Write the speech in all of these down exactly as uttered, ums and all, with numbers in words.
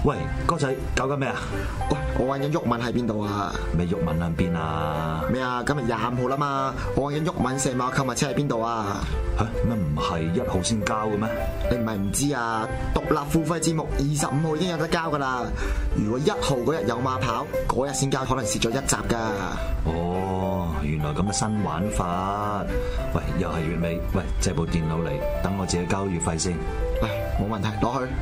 喂，哥仔搞緊咩啊？ 喂，我揾緊鬱文喺邊度啊？ 咩鬱文喺邊啊？ 咩啊？今日廿五號啦嘛，我揾緊鬱文成碼購物車喺邊度啊？ 吓，乜唔係一號先交嘅咩？ 你唔係唔知啊？獨立付費節目二十五號已經有得交噶啦。如果一號嗰日有馬跑，嗰日先交，可能蝕咗一集噶。 哦，原來咁嘅新玩法。喂，又係月尾，喂，借部電腦嚟，等我自己交月費先。 唉，冇問題，攞去。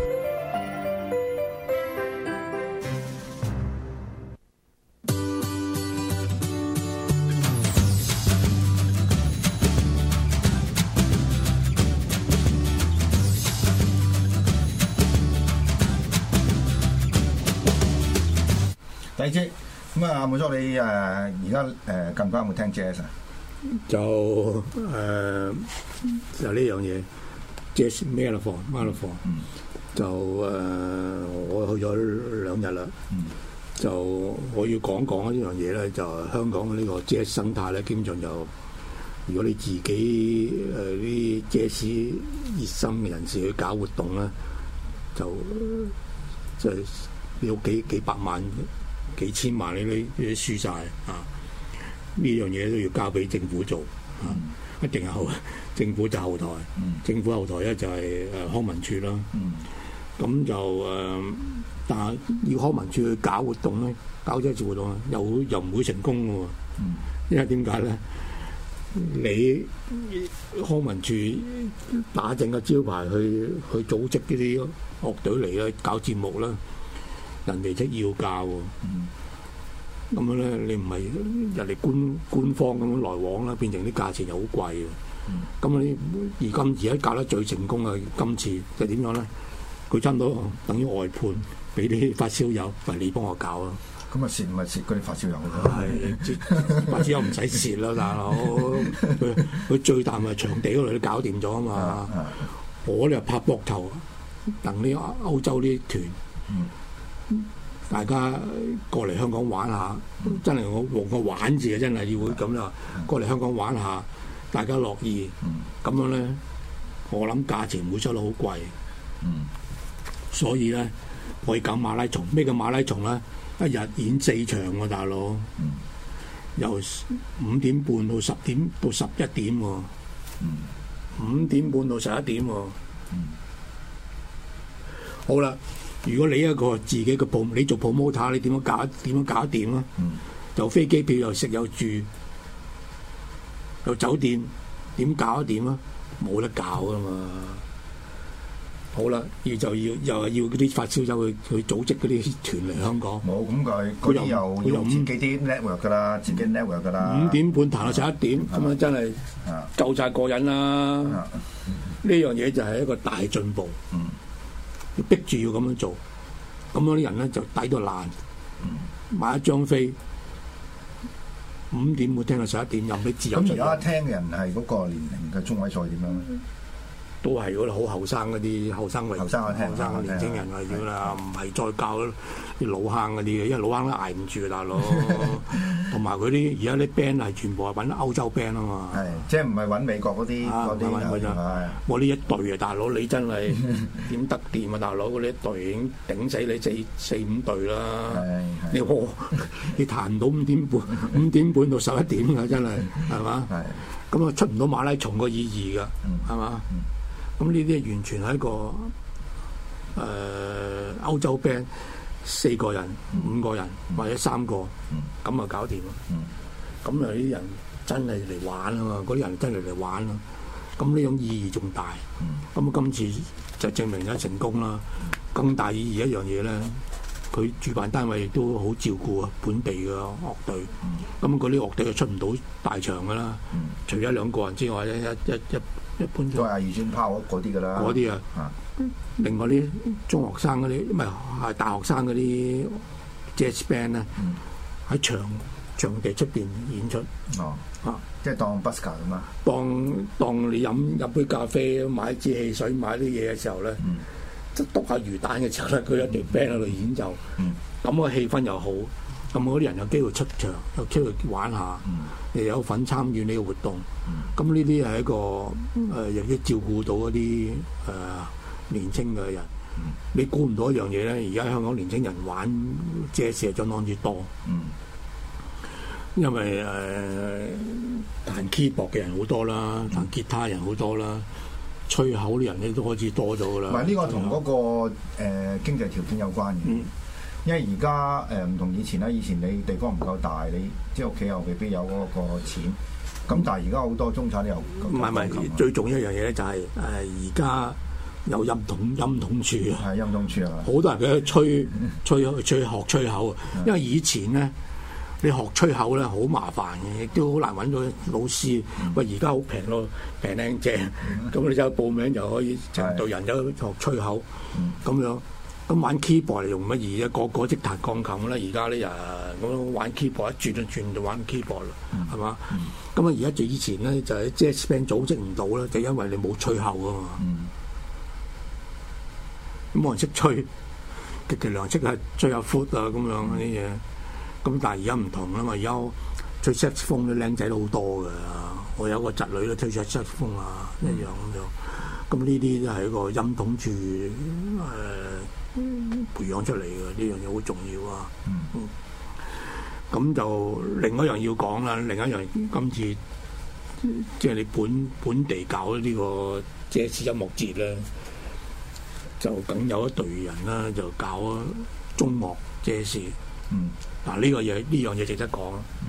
第二節咁啊，冇錯你誒而家誒近排有冇聽 jazz 啊？ 就誒、呃、就呢樣嘢 jazz marathon marathon 就誒、呃、我去咗兩日啦，嗯、就我要講講呢樣嘢咧，就香港嘅呢個 jazz 生態咧，基本上就如果你自己誒啲 jazz 熱心嘅人士去搞活動咧，就即係要幾幾百萬。幾千萬你都你都輸曬啊！呢樣嘢都要交俾政府做啊！一定係後政府就後台，嗯、政府後台咧就係誒康文署啦。咁、嗯、就誒、呃，但係要康文署去搞活動咧，搞咗一次活動又又唔會成功嘅喎。嗯、因為點解咧？你康文署打正個招牌去去組織呢啲樂隊嚟咧搞節目啦。人哋即要價喎，咁、嗯、樣咧你唔係人哋官官方咁樣來往啦，變成啲價錢又好貴喎。咁、嗯、你而今而家搞得最成功嘅今次就點樣咧？佢差唔多等於外判俾啲發燒友，喂你幫我搞啊！ 咁啊蝕唔係蝕嗰啲發燒友咯， 係發燒友唔使蝕啦，大佬。佢佢最大咪場地嗰度都搞掂咗啊嘛。啊啊我哋拍膊頭等啲歐洲啲團。嗯大家過嚟香港玩下，嗯、真係我用個玩字啊！真係要會咁啦，嗯、過嚟香港玩下，大家樂意。咁、嗯、樣咧，我諗價錢唔會收得好貴。嗯、所以咧，可以搞馬拉松。咩叫馬拉松咧？一日演四場喎、啊，大佬。嗯、由五點半到十點到十一點喎、啊。嗯、五點半到十一點喎、啊。嗯、好啦。如果你一個自己嘅鋪，你做 promoter，你點樣搞？點樣搞得掂啊？嗯、又飛機票，又食又住，又酒店，點搞得掂啊？冇得搞噶嘛！好啦，要就要又係要嗰啲發燒友去去組織嗰啲團嚟香港。冇咁佢嗰啲又佢又自己啲 network 噶啦，自己 network 噶啦。五點半彈到十一點，咁樣、嗯、真係夠晒過癮啦！呢、嗯、樣嘢就係一個大進步。嗯要逼住要咁樣做，咁樣啲人咧就抵到爛，嗯、買一張飛五點會聽到十一點，任你自由。咁而家聽嘅人係嗰個年齡嘅中位數點樣？嗯都係嗰啲好後生嗰啲後生為後生嘅後生嘅年青人為主啦，唔係再教啲老坑嗰啲嘅，因為老坑都捱唔住啊，大佬。同埋佢啲而家啲 band 係全部係揾歐洲 band 啊嘛。係，即係唔係揾美國嗰啲嗰啲啊？我呢一隊啊，大佬你真係點得掂啊，大佬！呢一隊已經頂死你四四五隊啦。你我你彈唔到五點半，五點半到十一點㗎，真係係嘛？係。咁啊出唔到馬拉松個意義㗎，係嘛？咁呢啲完全係一個誒、呃、歐洲 band 四個人、五個人或者三個，咁啊搞掂咯。咁啊啲人真係嚟玩啊嘛，嗰啲人真係嚟玩咯。咁呢種意義仲大。咁啊今次就證明咗成功啦。更大意義一樣嘢咧，佢主辦單位亦都好照顧啊本地嘅樂隊。咁嗰啲樂隊就出唔到大場㗎啦，除咗兩個人之外咧，一一一。一般都係二專拋嗰啲㗎啦，嗰啲啊，啊另外啲中學生嗰啲，唔係係大學生嗰啲 jazz band 咧，喺場場地出邊演出，哦，啊，即係當 busker 咁啊，當當你飲飲杯咖啡，買支汽水，買啲嘢嘅時候咧，即係篤下魚蛋嘅時候咧，佢一隊 band 喺度演奏，咁個氣氛又好。咁嗰啲人有機會出場，有機會玩下，又、嗯、有份參與呢個活動。咁呢啲係一個誒，亦、呃、都照顧到一啲誒、呃、年青嘅人。 你估唔到一樣嘢咧，而家香港年青人玩爵士係相當之多。 嗯。 因為誒、呃、彈 keyboard 嘅人好多啦，彈吉他人好多啦，吹口啲人咧都開始多咗噶啦。 唔係呢個同嗰、那個誒、呃、經濟條件有關嘅。嗯。因為而家誒唔同以前啦，以前你地方唔夠大，你即係屋企又未必有嗰個錢。咁但係而家好多中產都有。 唔係唔係，最重要一樣嘢咧就係誒而家有音筒音筒柱啊。 係音筒柱啊！ 好多人佢去吹吹吹學吹口啊，因為以前咧。你學吹口咧好麻煩嘅，亦都好難揾到老師。喂、嗯，而家好平咯，平靚正，咁、嗯、你就報名就可以成隊人走學吹口，咁、嗯、樣。咁玩 keyboard 嚟用乜嘢啫？個個即彈鋼琴啦，而家呢人咁玩 keyboard 一轉就轉就玩 keyboard 啦，係嘛？咁啊而家就以前咧就係 jazz band 組織唔到啦，就因為你冇吹口啊嘛。咁冇、嗯、人識吹，極其量識係吹下 foot 啊咁樣啲嘢。咁但係而家唔同啦嘛，而家吹 saxophone 啲僆仔都好多㗎。我有個侄女都吹 saxophone 啊，一樣咁樣。咁呢啲都係一個音筒柱誒、呃、培養出嚟嘅，呢樣嘢好重要啊。咁、嗯、就另一樣要講啦，另一樣今次即係你本本地搞呢個爵士音樂節咧，就梗有一隊人啦，就搞中樂爵士。嗯，嗱呢個嘢呢樣嘢值得講。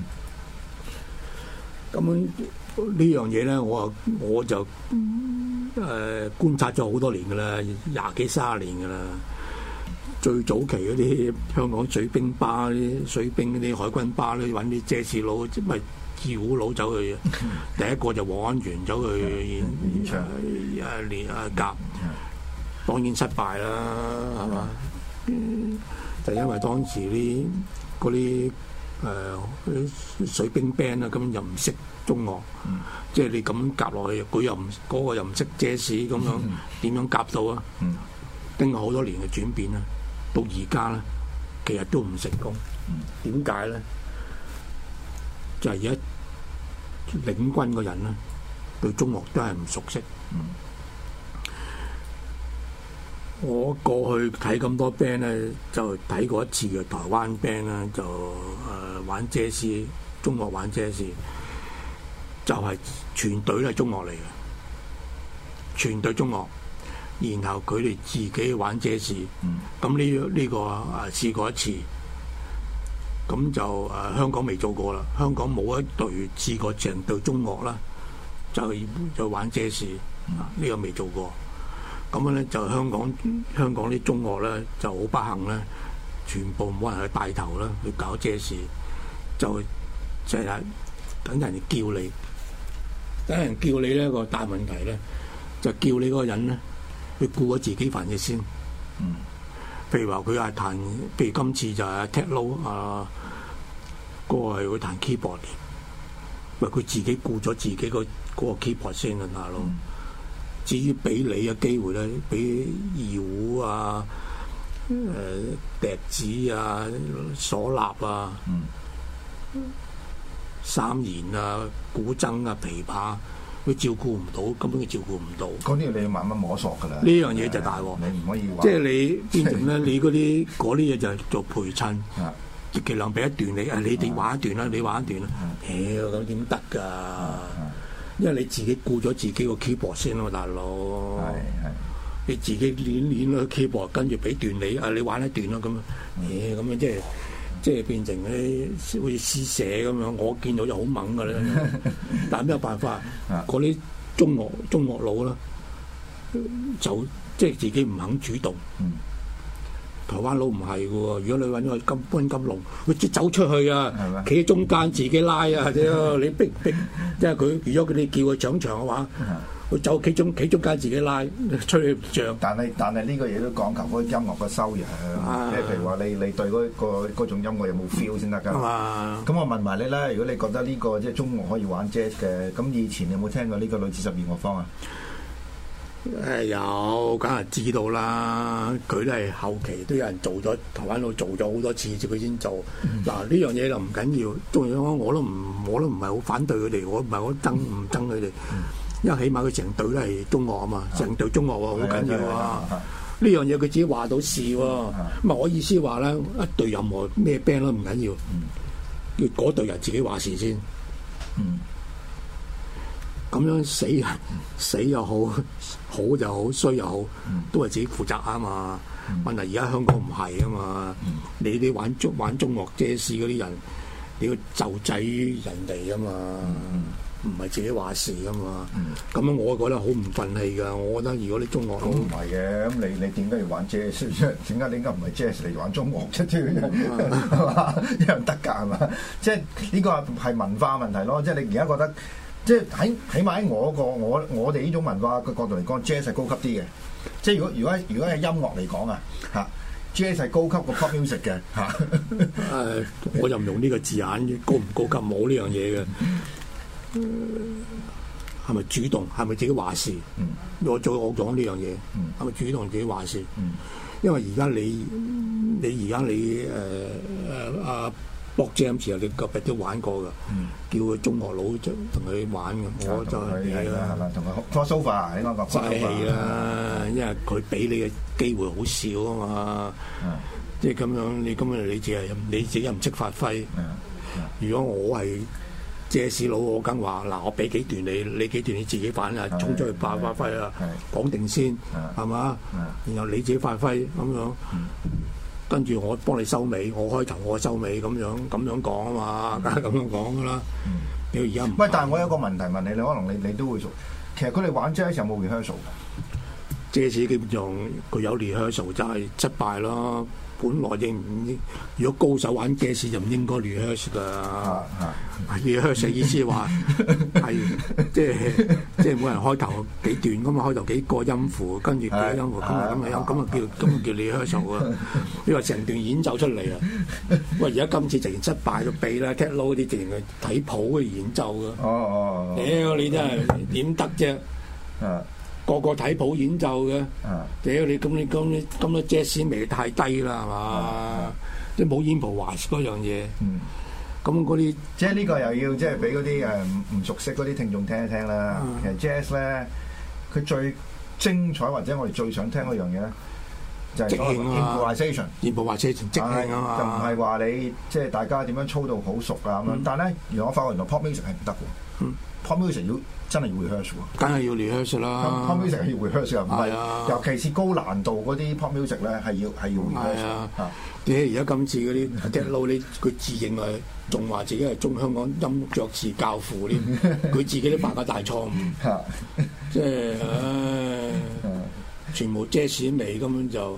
咁、嗯、呢樣嘢咧，我我就誒、呃、觀察咗好多年噶啦，廿幾卅年噶啦。最早期嗰啲香港水兵巴啲水兵嗰啲海軍巴咧，揾啲爵士佬即係二胡佬走去。第一個就黃安源走去演唱誒練啊夾，當然失敗啦，係嘛？嗯就因為當時啲嗰啲誒啲水兵 band 啊，根本就唔識中樂，嗯、即係你咁夾落去，佢又唔嗰、嗰個又唔識爵士咁樣，點、嗯、樣夾到啊？嗯、經過好多年嘅轉變啦，到而家咧，其實都唔成功。點解咧？就係而家領軍嘅人咧，對中樂都係唔熟悉。嗯我過去睇咁多 band 咧，就睇過一次嘅台灣 band 啦，就誒、呃、玩爵士，中樂玩爵士，就係、是、全隊都係中樂嚟嘅，全隊中樂，然後佢哋自己玩爵士，咁呢呢個啊試過一次，咁就誒、呃、香港未做過啦，香港冇一隊試過成隊中樂啦，就就玩爵士，呢、這個未做過。咁樣咧就香港香港啲中樂咧就好不幸咧，全部冇人去帶頭啦，去搞爵士，就就係等人哋叫你，等人叫你呢個大問題咧，就叫你嗰個人咧去顧咗自己份嘢先。嗯，譬如話佢係彈，譬如今次就係 Techno 啊，嗰、嗰個係會彈 keyboard 嘅，喂佢自己顧咗自己個嗰個 keyboard 先啊，大佬。嗯至於俾你嘅機會咧，俾二胡啊、誒、呃、笛子啊、嗩吶啊、嗯、三弦啊、古箏啊、琵琶，佢照顧唔到，根本佢照顧唔到。嗰啲你要慢慢摸索㗎啦。呢樣嘢就大鑊，你唔可以話。即係你變成咧，你嗰啲嗰啲嘢就係做陪襯，極其量俾一段你，啊你哋玩一段啦，你玩一段啦。屌咁點得㗎？因為你自己顧咗自己個 keyboard 先咯，大佬。係係。你自己練練個 keyboard，跟住俾段你，啊你玩一段咯咁。誒咁樣即係即係變成啲好似施捨咁樣。我見到就好猛㗎啦。但係咩辦法？嗰啲中樂中樂佬啦，就即係自己唔肯主動。台灣佬唔係嘅喎，如果你揾個金溫金龍，佢即走出去啊，企喺中間自己拉啊，屌你逼逼，即係佢如果佢哋叫佢上場嘅話，佢走企中企中間自己拉，吹唔脹。但係但係呢個嘢都講求嗰音樂嘅修養，即係譬如話你你對嗰個嗰種音樂有冇 feel 先得㗎。咁我問埋你啦，如果你覺得呢個即係中樂可以玩 jazz 嘅，咁以前有冇聽過呢個女子十二樂坊啊？誒有，梗係知道啦。佢都係後期都有人做咗，台灣佬做咗好多次，佢先做。嗱呢樣嘢就唔緊要，中意我都唔我都唔係好反對佢哋，我唔係好憎唔憎佢哋，因為起碼佢成隊都係中樂啊嘛，成隊中樂喎好緊要啊。呢呢樣嘢佢自己話到事喎。咁啊，我意思話咧，一隊任何咩 band 都唔緊要，要嗰隊人自己話事先。 嗯， 咁樣死人死又好，好又好，衰又好，都係自己負責啊嘛。問題而家香港唔係啊嘛，你啲玩中玩中樂 jazz 嗰啲人，你要就制於人哋啊嘛。唔係自己話事噶嘛，咁樣、嗯、我覺得好唔憤氣㗎。我覺得如果你中樂佬唔係嘅，咁你你點解要玩 jazz 啫？點解你應該唔係 jazz 嚟玩中樂啫？係嘛，一樣得㗎係嘛？即係呢個係文化問題咯。即係你而家覺得，即係喺起碼喺我個我我哋呢種文化嘅角度嚟講 ，jazz 係高級啲嘅。即係如果如果如果係音樂嚟講啊，嚇 jazz 係高級過 pop music 嘅嚇。 誒，我就唔用呢個字眼，高唔高級冇呢樣嘢嘅。係咪主動？係咪自己話事？嗯、我再我講呢樣嘢，係咪、嗯、主動自己話事？嗯、因為而家你你而家你誒誒阿 Bob James 啊，你個別都玩過㗎，嗯、叫佢中學佬同佢玩嘅，嗯、我就係啦，係嘛，同佢 crossover 應該講 crossover 係啦，因為佢俾你嘅機會好少啊嘛，嗯、即係咁樣你咁樣你自己你自己又唔識發揮。嗯嗯、如果我係借市佬，我梗話嗱，我俾幾段你，你幾段你自己玩啊，衝出去發發揮啊，講定先，係嘛？然後你自己發揮咁樣，跟住我幫你收尾，我開頭我收尾咁樣咁樣講啊嘛，梗係咁樣講噶啦。你而家唔喂，但係我有個問題問你，你可能你你都會熟。其實佢哋玩 jazz 有冇 rehearsal 㗎？ 借市基本上佢有 rehearsal 就係失敗咯。本來應唔應？如果高手玩 jazz 就唔應該 rehearsal 㗎。rehearsal 意思話係即係即係每人開頭幾段咁啊，開頭幾個音符，跟住幾個音符，咁啊咁啊咁啊叫咁啊叫 rehearsal 啊！你話成段演奏出嚟啊！喂，而家今次直情失敗到痹啦 ，Ted Lo 啲直情係睇譜去演奏㗎。哦哦，屌你真係點得啫？個個睇譜演奏嘅，屌你咁你咁你咁多 jazz 味太低啦係嘛？即係冇 improvise 嗰樣嘢。咁嗰啲即係呢個又要即係俾嗰啲誒唔唔熟悉嗰啲聽眾聽一聽啦。其實 jazz 咧，佢最精彩或者我哋最想聽嗰樣嘢咧，就係即興啊 improvisation，improvisation 即興啊嘛， 就唔係話你即係大家點樣操到好熟啊咁樣。但係咧，原來我發覺原來 pop music 係唔得嘅。pop music 要真係要 rehearsal 喎，梗係要 rehearsal 啦。 pop music 係要 rehearsal，唔係，尤其是高難度嗰啲 pop music 咧係要係要 rehearsal。 你而家今次嗰啲 Ted Lo 你佢自認係仲話自己係中香港音樂爵士教父添，佢自己都犯個大錯誤，即係唉，全部 jazz 味根本就，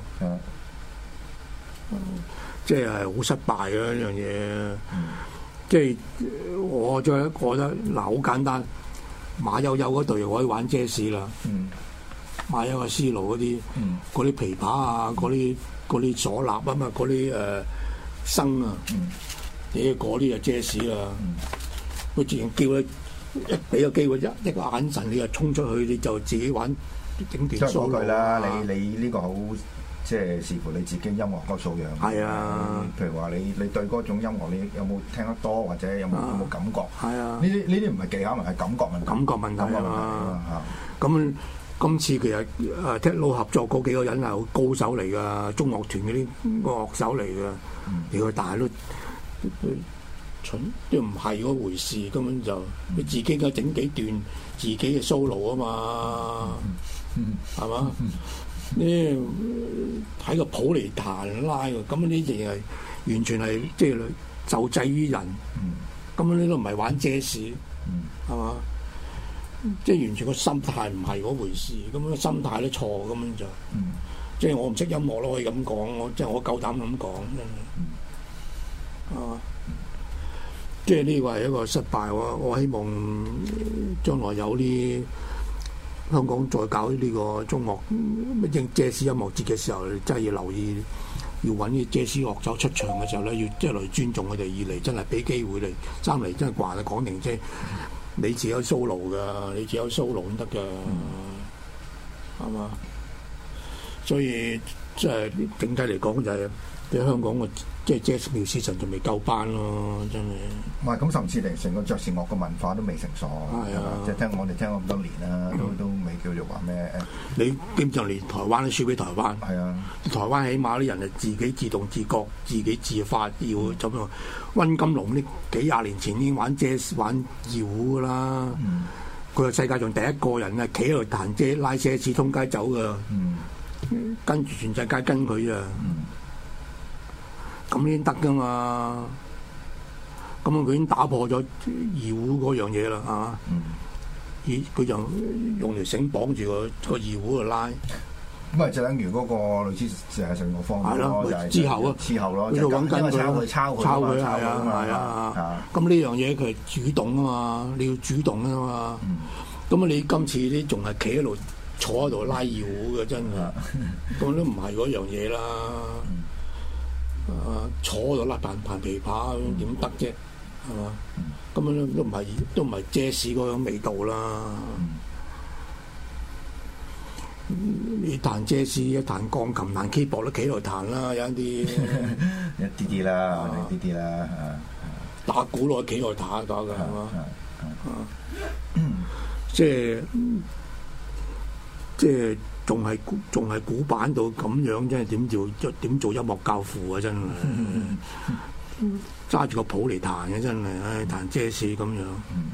即係係好失敗嘅一樣嘢。即係我再覺得嗱，好簡單，馬友友嗰隊可以玩 jazz 啦。嗯、馬友友絲路嗰啲，嗰啲、嗯、琵琶啊，嗰啲嗰啲嗩吶啊嘛，嗰啲誒笙啊，啲嗰啲就 jazz 啦。佢自然叫你一俾個機會，一一個眼神你就衝出去，你就自己玩整段 solo 句啦。你你呢個好。即係視乎你自己音樂個素養。係啊，譬如話你你對嗰種音樂你有冇聽得多，或者有冇有冇感覺？係啊，呢啲呢啲唔係技巧問題，係感覺問題。感覺問題啊！ 咁今次其實誒 Ted Lo 合作嗰幾個人係好高手嚟㗎，中樂團嗰啲樂手嚟㗎。你佢大都蠢都唔係嗰回事，根本就你自己嘅整幾段自己嘅 solo 啊嘛，係嘛？呢睇個譜嚟彈拉㗎，咁呢啲係完全係即係就制於人，咁呢都唔係玩 jazz，係嘛？即係完全個心態唔係嗰回事，咁樣個心態都錯，咁樣就，即係我唔識音樂咯，可以咁講，我即係我夠膽咁講，真係，啊，即係呢個係一個失敗，我我希望將來有啲。香港再搞呢個中樂乜 jazz 音樂節嘅時候，真係要留意，要揾啲 jazz 樂手出場嘅時候咧，要即係嚟尊重佢哋，二嚟真係俾機會你，三嚟真係話你講定即係你自己有 solo 㗎，你自己有 solo 先得㗎，係嘛？所以即係整體嚟講就係、是、喺香港嘅即係 jazz musician仲未夠班咯，真係。 唔係咁，甚至嚟成個爵士樂嘅文化都未成熟， 係啊， 即係聽我哋聽咗咁多年啦，都都未叫做話咩誒？ 你基本上連台灣都輸俾台灣。係啊， 台灣起碼啲人係自己自動自覺、自己自發要咁樣。溫金龍呢幾廿年前已經玩 jazz 玩搖噶啦，佢係、嗯、世界上第一個人啊，企喺度彈遮拉奢侈通街走噶，嗯、跟住全世界跟佢啊，咁先得噶嘛。咁佢已經打破咗搖嗰樣嘢啦，啊！咦、嗯，佢就用條繩綁住個個搖度拉。 咁啊，就等於嗰個類似誒成個方法咯，就係之後啊， 之後咯， 喺度揾緊佢， 抄佢， 抄佢，係啊，係啊。咁呢樣嘢佢係主動啊嘛，你要主動啊嘛。咁啊，你今次啲仲係企喺度坐喺度拉搖嘅，真係，咁都唔係嗰樣嘢啦。啊，坐喺度拉彈彈琵琶點得啫？係嘛？咁樣都唔係都唔係爵士嗰種味道啦。你彈爵士，一彈鋼琴、彈 keyboard 都企喺度彈啦，有一啲一啲啲啦，一啲啲啦， 打鼓落企喺度打打㗎，係嘛？即係即係仲係仲係古板到咁樣，真係點做點做音樂教父啊！真係揸住個譜嚟彈嘅，真係唉，彈爵士咁樣。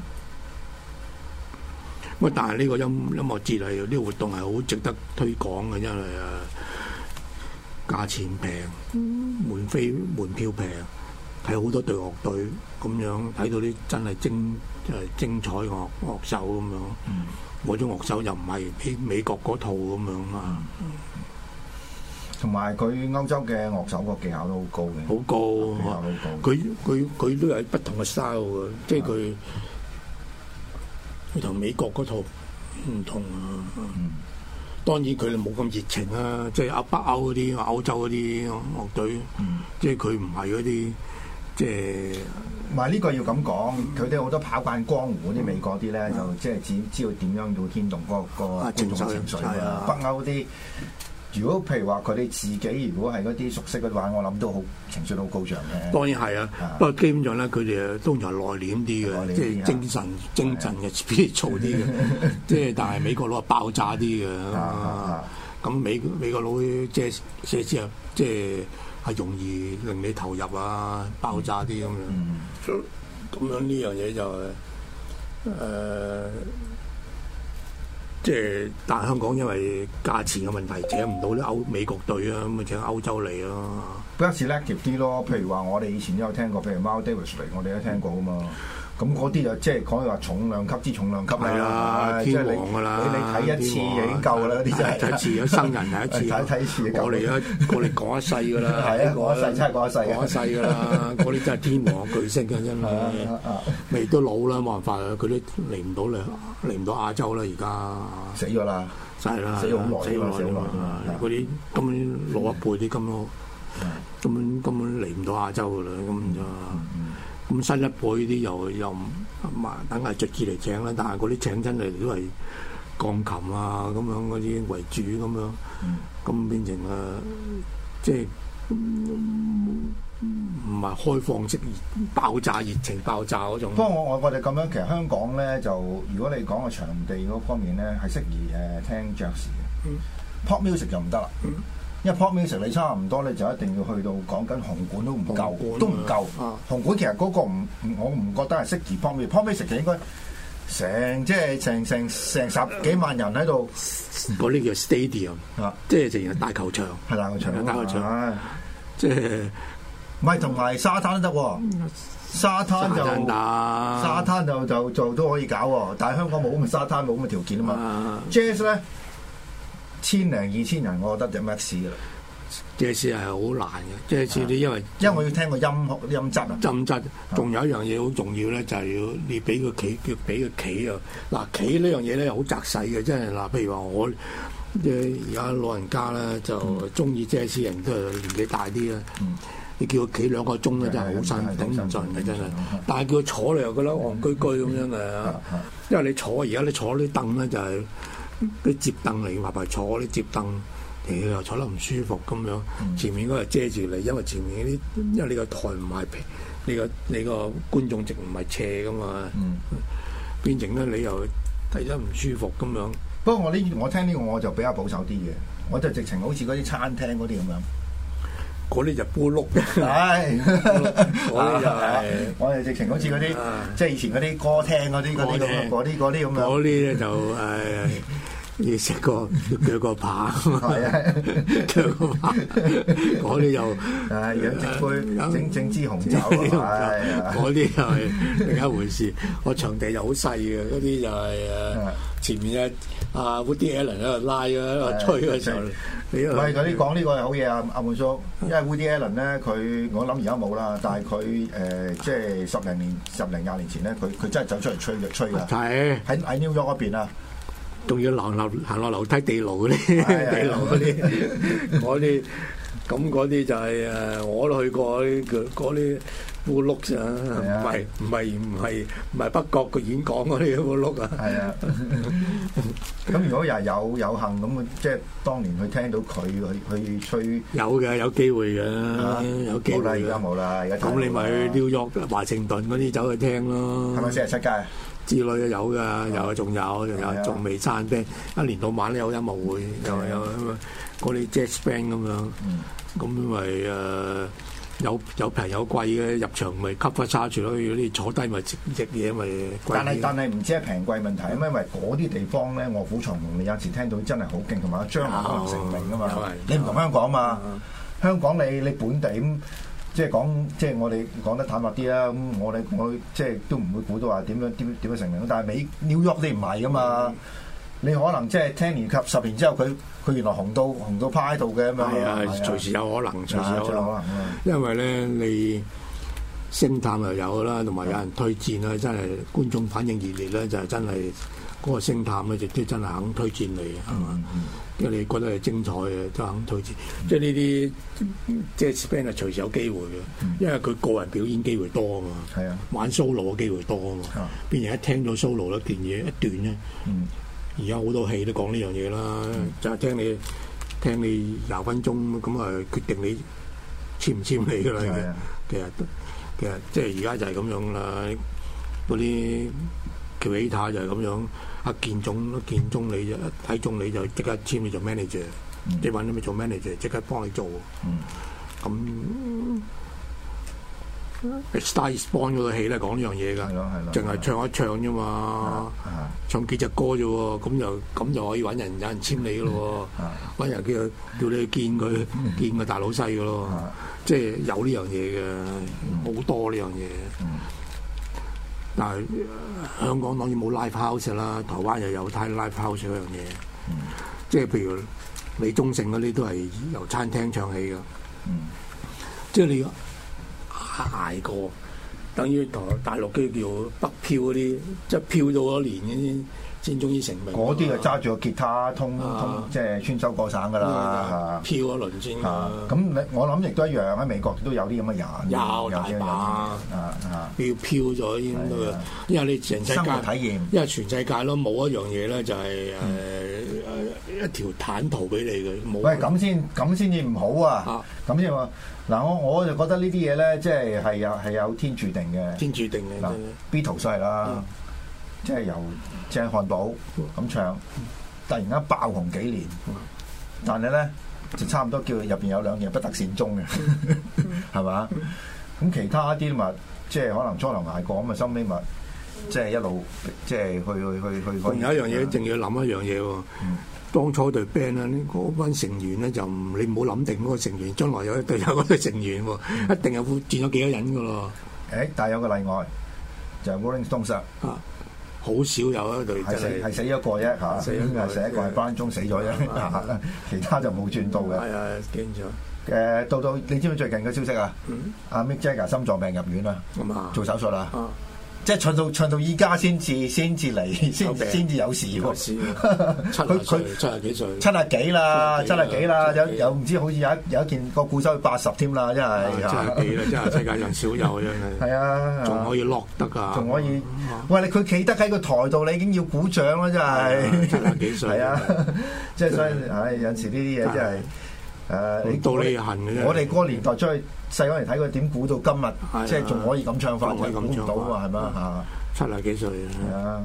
咁但係呢個音音樂節嚟，呢個活動係好值得推廣嘅，因為啊價錢平，門飛門票平，睇好多隊樂隊咁樣，睇到啲真係精誒精彩樂樂手咁樣，嗰種樂手又唔係喺美國嗰套咁樣啊。 同埋佢歐洲嘅樂手個技巧都好高嘅， 好高， 技巧好高。 佢佢佢都有不同嘅 style 嘅，即係佢。佢同美國嗰套唔同啊！嗯、當然佢哋冇咁熱情啊，即係歐北歐嗰啲、歐洲嗰啲樂隊，嗯、即係佢唔係嗰啲，即係唔係呢個要咁講，佢哋好多跑慣江湖嗰啲美國啲咧，嗯、就即係只知道點樣要牽動嗰、嗰個、嗰個觀眾情緒啊！北歐嗰啲。如果譬如話佢哋自己如果係嗰啲熟悉嘅話，我諗都好情緒都好高漲嘅。 當然係啊，不過基本上咧，佢哋通常係內斂啲嘅，即係精神精神嘅 spiritual 啲嘅。即係但係美國佬係爆炸啲嘅。咁美美國佬即係寫之後，即係係容易令你投入啊，爆炸啲咁樣。咁樣呢樣嘢就係誒。即係，但係香港因為價錢嘅問題，請唔到啲歐美國隊啊，咁咪請歐洲嚟咯。 比較 selective 啲咯，譬如話我哋以前都有聽過，譬如 Miles Davis 嚟，我哋都聽過噶嘛。咁嗰啲就即係講話重量級之重量級啦，天王㗎啦，你你睇一次已經夠啦，嗰啲真係睇一次，有生人睇一次，睇睇一次夠。我哋啊，我哋講一世㗎啦，係啊，講一世真係講一世，講一世㗎啦，嗰啲真係天王巨星嘅真係，未都老啦，冇辦法啊，佢都嚟唔到嚟，嚟唔到亞洲啦，而家死咗啦， 係啦， 死好耐，死好耐啊！嗰啲根本老一輩啲咁咯，根本根本嚟唔到亞洲㗎啦，咁就。咁新一輩啲又又唔等係著住嚟請啦，但係嗰啲請真係都係鋼琴啊咁樣嗰啲為主咁樣，咁、嗯、變成啊即係唔係開放式爆炸熱情爆炸嗰種。不過我我我哋咁樣，其實香港咧就如果你講個場地嗰方面咧係適宜誒聽爵士嘅、嗯、，pop music 就唔得啦。嗯因為 pop music 你差唔多你就一定要去到講緊紅館都唔夠，都唔夠。啊、紅館其實嗰個唔，我唔覺得係適宜 pop music。pop music 就應該成即係成成成十幾萬人喺度， 嗰啲叫 stadium，啊、即係成日大球場， 係大球場，大球場，啊、 即係唔係同埋沙灘都得喎。沙灘就沙灘就就就都可以搞喎，但係香港冇咁嘅沙灘，冇咁嘅條件啊嘛。Jazz 咧。千零二千人，我覺得就 max 噶啦。 爵士係好難嘅，爵士你因為因為我要聽個音音質啊， 音質。仲有一樣嘢好重要咧，就係要你俾個企，叫俾個企啊。嗱，企呢樣嘢咧好窄細嘅，即係嗱，譬如話我誒而家老人家咧就中意爵士人都係年紀大啲啦。嗯、你叫佢企兩個鐘咧，真係好辛苦，頂唔順嘅真係。但係叫佢坐你又覺得戇居居咁樣嘅，因為你坐而家你坐啲凳咧就係、是。啲摺凳嚟，話埋坐啲摺凳， 你又坐得唔舒服咁樣，前面嗰個遮住你，因為前面啲因為你個台唔係平，你個你個觀眾席唔係斜噶嘛， 嗯、 變成咧你又睇得唔舒服咁樣。 不過我呢我聽呢個我就比較保守啲嘅，我就直情好似嗰啲餐廳嗰啲咁樣。 嗰啲就煲碌， 係嗰啲就係我哋直情好似嗰啲，即係以前嗰啲歌廳嗰啲嗰啲咁嗰啲嗰啲咁樣。 嗰啲咧就誒要食個鋸個扒， 係啊， 鋸個扒，嗰啲又誒養隻杯整整支紅酒，係嗰啲又係另一回事。個場地又好細嘅，嗰啲就係誒前面啊啊 Woody Allen 喺度拉啊喺度吹嘅時候。 喂，嗰啲講呢個係好嘢啊，阿滿叔，因為 Woody Allen 咧，佢我諗而家冇啦，但係佢誒即係十零年、十零廿年前咧，佢佢真係走出嚟吹嘅吹㗎。係喺喺 New York 嗰邊啊， 仲要行樓行落樓梯地牢嗰啲，地牢嗰啲，嗰啲咁嗰啲就係誒，我都去過啲嗰啲烏碌啊，唔係唔係唔係唔係北角嘅演講嗰啲烏碌啊。係啊， 咁如果又係有有幸咁，即係當年去聽到佢去去吹， 有嘅有機會嘅，有機會。 冇啦，而家冇啦，而家咁你咪去紐約、華盛頓嗰啲走去聽咯。 係咪四十七街之類嘅有㗎，有仲有仲有仲未散 band，一年到晚都有音樂會，又有嗰啲 jazz band 咁樣，咁咪誒有有平有貴嘅，入場咪 cover charge 咯，如果你坐低咪食食嘢咪貴。 但係但係唔知係平貴問題，因為嗰啲地方咧，臥虎藏龍，你有時聽到真係好勁，同埋將來可能成名㗎嘛。你唔同香港嘛，香港你你本地咁。即係講，即係我哋講得坦白啲啦。咁我哋我即係都唔會估到話點樣點點樣成名。但係美 New York 你唔係噶嘛？嗯、你可能即係聽年及十年之後，佢佢原來紅到紅到趴喺度嘅咁樣。係啊， 隨時有可能，隨時有可能。 可能因為咧，你星探又有啦，同埋有，有人推薦啦，真係觀眾反應熱烈咧，就係、是、真係嗰個星探咧，就都真係肯推薦你，係嘛？嗯嗯因為你覺得係精彩嘅，都肯推薦。嗯、即係呢啲即係 band 係隨時有機會嘅，嗯、因為佢個人表演機會多啊嘛。係啊，玩 solo 嘅機會多啊嘛。邊人一聽到 solo 一段嘢一段咧，而家好多戲都講呢樣嘢啦。嗯、就係聽你聽你廿分鐘咁啊，決定你簽唔簽你㗎啦。啊、其實其實即係而家就係咁樣啦。嗰啲喬起塔就係咁樣。阿建總建中你就睇中你就即刻簽你做 manager，即係揾你做 manager，即刻幫你做。咁《Star Is Born》嗰個戲咧講呢樣嘢㗎，淨係唱一唱啫嘛，唱幾隻歌啫喎，咁就咁就可以揾人有人簽你㗎咯喎，揾人叫叫你去見佢見個大老細㗎咯，即係有呢樣嘢嘅，好多呢樣嘢。但係香港當然冇 live house 啦，台灣又有睇 live house 嗰樣嘢，嗯、即係譬如李宗盛嗰啲都係由餐廳唱起㗎，嗯、即係你捱過，等於台大陸啲叫北漂嗰啲，即係漂咗多年嗰啲先終於成名。嗰啲就揸住個吉他通通，啊、即係穿州過省㗎啦，漂一輪先。咁你我諗亦都一樣喺美國都有啲咁嘅人，有大把啊啊！要漂咗先都嘅，因為你全世界生活體驗，因為全世界咯冇一樣嘢咧就係誒誒一條坦途俾你嘅。冇。喂，咁先咁先至唔好啊！咁先話嗱，我我就覺得呢啲嘢咧，即係係有係有天注定嘅，天注定嘅。嗱，Beatles係啦。即係由鄭漢寶咁唱，突然間爆紅幾年，但係咧就差唔多叫入邊有兩嘢不得善終嘅，係嘛？咁其他啲咪即係可能初頭捱過咁啊，收尾咪即係一路即係去去去去。仲有一樣嘢，一定要諗一樣嘢喎。嗯、當初隊 band 啊，嗰班成員咧就唔你唔好諗定嗰個成員，將來有一隊有嗰隊成員喎，嗯、一定係會轉咗幾多人噶咯。誒，但係有個例外，就係 Rolling Stones 啊。好少有一隊係死係死咗個啫嚇，死係死一個係班中死咗啫，其他就冇轉到嘅。係啊，見咗。誒，到到你知唔知最近嘅消息啊？阿 Mick Jagger 心臟病入院啊，做手術啊。 即係唱到唱到依家先至先至嚟，先先至有事喎。 七佢佢七廿幾歲， 七廿幾啦，七廿幾啦，有有唔知好似有一有一件個股收八十添啦，真係七廿幾啦，真係世界上少有真係。係啊， 仲可以落得㗎， 仲可以。喂，你佢企得喺個台度，你已經要鼓掌啦，真係。 七廿幾歲。 係啊，即係所以，唉，有時呢啲嘢真係。誒，你到你恨嘅啫。 我哋嗰個年代出去細個嚟睇佢點估到今日，即係仲可以咁唱法，就估唔到啊，係咪啊？ 七廿幾歲係啊，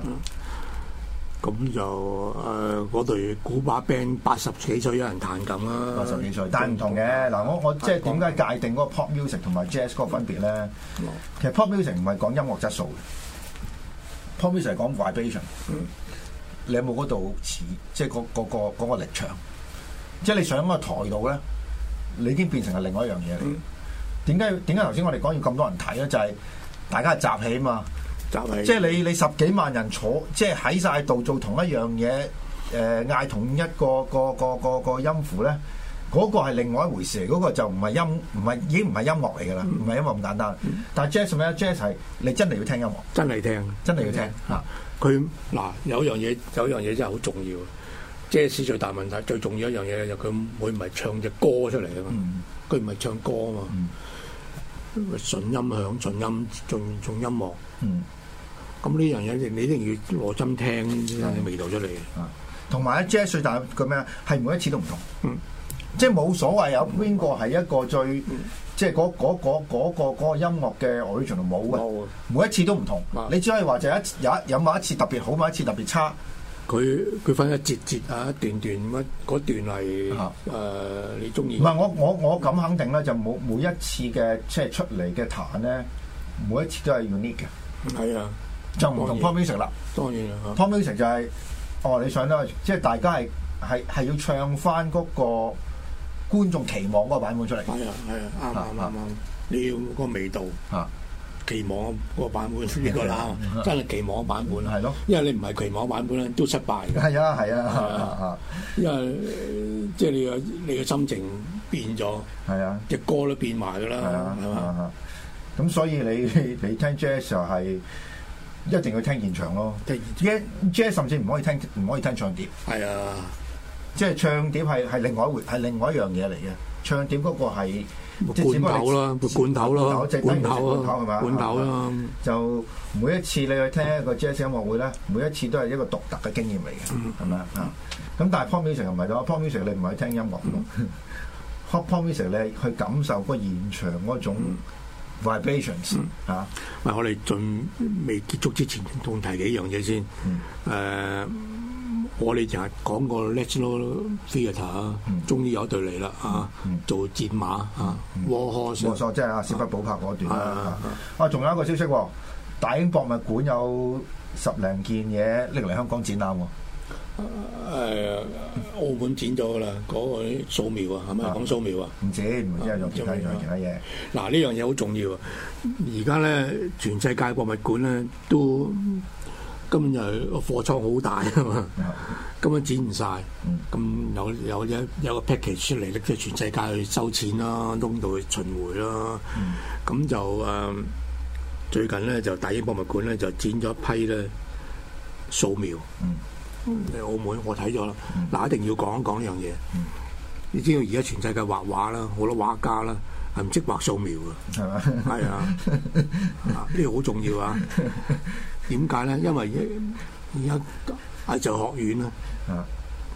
咁就誒嗰隊古巴 band 八十幾歲有人彈緊啦， 八十幾歲，但係唔同嘅嗱，我我即係點解界定嗰個 pop music 同埋 jazz 嗰個分別咧？其實 pop music 唔係講音樂質素嘅 ，pop music 係講 vibration。你有冇嗰度似即係嗰嗰個嗰個力場？即係你上個台度咧，你已經變成係另外一樣嘢嚟。點解點解頭先我哋講要咁多人睇咧？就係、是、大家係集氣啊嘛，集氣。即係你你十幾萬人坐，即係喺晒度做同一樣嘢，誒、呃、嗌同一個個個個個音符咧，嗰、那個係另外一回事嚟。嗰、那個就唔係音，唔係已經唔係音樂嚟㗎啦，唔係、嗯、音樂咁簡單。嗯、但係 jazz 咩 jazz 係你真係要聽音樂， 真係聽， 真係要聽嚇。 佢嗱有樣嘢，有樣嘢真係好重要。jazz 最大問題，最重要一樣嘢就佢會唔係唱隻歌出嚟啊嘛，佢唔係唱歌啊嘛，純、嗯、音響、純音、純純音樂。咁呢樣嘢你一定要攞針聽先有味道出嚟。 同埋咧 jazz 最大個咩啊？係每一次都唔同，嗯、即係冇所謂有邊個係一個最，嗯、即係嗰嗰嗰嗰個嗰個音樂嘅 original 冇嘅，每一次都唔同。嗯、你只可以話就一有一有某一次特別好，某一次特別差。 佢佢分一節節啊，一段段乜嗰段係誒、呃、你中意？ 唔係我我我咁肯定咧，就冇每一次嘅即係出嚟嘅彈咧，每一次都係 unique 嘅。係啊，就唔同 pop music 啦。當然啦 pop music 就係、是、哦，你想咧，即係大家係係係要唱翻嗰個觀眾期望嗰個版本出嚟。係啊係啊，啱啱啱啱，你要嗰個味道啊。期望嗰個版本呢個啦，真係期望版本係咯，因為你唔係期望版本咧，都失敗嘅。係啊係啊，因為即係你嘅你嘅心情變咗，係啊，隻歌都變埋㗎啦，係嘛？咁所以你你聽 jazz 就係一定要聽現場咯。jazz 甚至唔可以聽唔可以聽唱碟。係啊，即係唱碟係係另外一回係另外一樣嘢嚟嘅。唱碟嗰個係。罐頭啦，罐頭咯，罐頭啊，係嘛？罐頭啦，就每一次你去聽一個 jazz 音樂會咧，每一次都係一個獨特嘅經驗嚟嘅，係咪啊？咁但係 pop music 又唔係咯 pop music 你唔係去聽音樂咯 pop music 你去感受嗰個現場嗰種 vibrations 嚇。喂，我哋盡未結束之前，仲提幾樣嘢先。誒。我哋就係講過 National Theatre 啊，終於有隊嚟啦啊！做戰馬啊 War Horse 即係阿史匹堡拍嗰段啦。啊，仲有一個消息喎，大英博物館有十零件嘢拎嚟香港展覽喎。誒，澳門展咗噶啦，嗰個素描啊，係咪講素描啊？唔止，唔止係用其他用其他嘢。嗱，呢樣嘢好重要啊！而家咧，全世界博物館咧都。根本就係個貨倉好大啊嘛，根本展唔晒。咁、嗯、有有一有個 package 出嚟咧，即係全世界去收錢啦，東度去巡迴啦。咁、嗯、就誒、呃、最近咧就大英博物館咧就展咗一批咧素描。嗯，喺澳門我睇咗啦，嗱、嗯、一定要講一講呢樣嘢。嗯、你知道而家全世界畫畫啦，好多畫家啦係唔識畫素描㗎，係嘛？係啊，呢個好重要啊！點解咧？因為而家藝術學院咧，啊、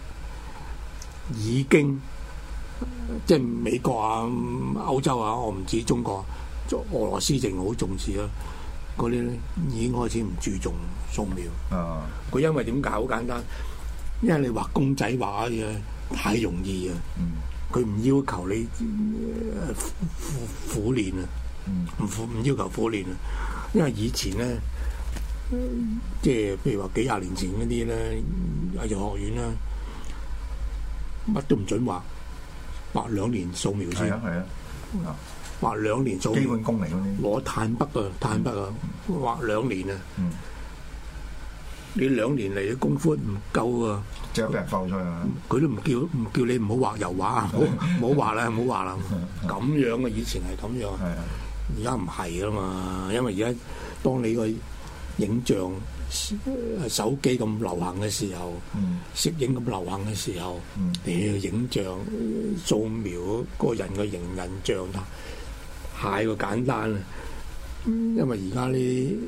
已經即係美國啊、歐洲啊，我唔知中國、俄羅斯淨好重視啦。嗰啲咧已經開始唔注重素描。佢、啊、因為點解？好簡單，因為你畫公仔畫嘅太容易啊。佢唔、嗯、要求你苦苦練啊，唔苦唔要求苦練啊。因為以前咧。即係譬如話幾廿年前嗰啲咧，藝術學院啦，乜都唔准畫，畫兩年素描先。係啊係啊，畫兩年素描。基本功嚟嗰啲。攞炭筆啊，炭筆啊，畫兩年啊。嗯。你兩年嚟嘅功夫唔夠啊！即係俾人放出去啊！佢都唔叫唔叫你唔好畫油畫啊！唔好唔好畫啦，唔好畫啦。咁樣啊，以前係咁樣。係啊。而家唔係啊嘛，因為而家當你個影像手機咁流行嘅時候， 嗯、 攝影咁流行嘅時候， 嗯、 你嘅影像掃描嗰個人嘅形人像太過簡單啦。因為而家呢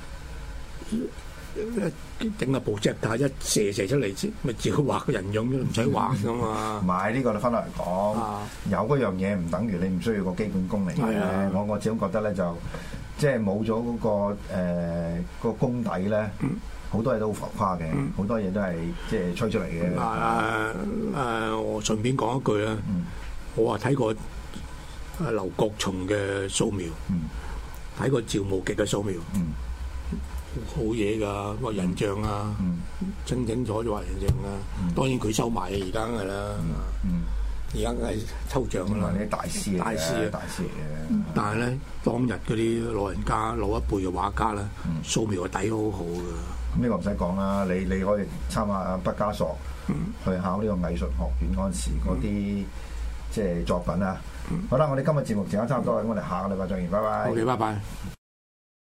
整個部 projector 一射射出嚟，咪照畫個人樣都唔使畫噶嘛。 唔係呢個你分落嚟講， 啊、 有嗰樣嘢唔等於你唔需要個基本功嚟嘅。 啊、 我我始終覺得咧就即係冇咗嗰個誒、呃嗰個功底咧，好、嗯、多嘢都好浮誇嘅，好、嗯、多嘢都係即係吹出嚟嘅。誒誒、 啊啊，我順便講一句啦，嗯、我話睇過劉國松嘅掃描，睇、嗯、過趙無極嘅掃描。嗯好嘢㗎，個人像啊，嗯、清清楚楚畫人像啊。嗯、當然佢收埋而家㗎啦，而家係抽象㗎啦。 啲大師嚟嘅，大師大師嚟嘅。 嗯、但係咧，當日嗰啲老人家老一輩嘅畫家咧，嗯、掃描個底好好㗎。 咁呢個唔使講啦，你你可以參考阿畢加索、嗯、去考呢個藝術學院嗰陣時嗰啲即係作品啊。嗯、好啦，我哋今日節目時間差唔多啦，咁我哋下個禮拜再見，拜拜。 好嘅，拜拜。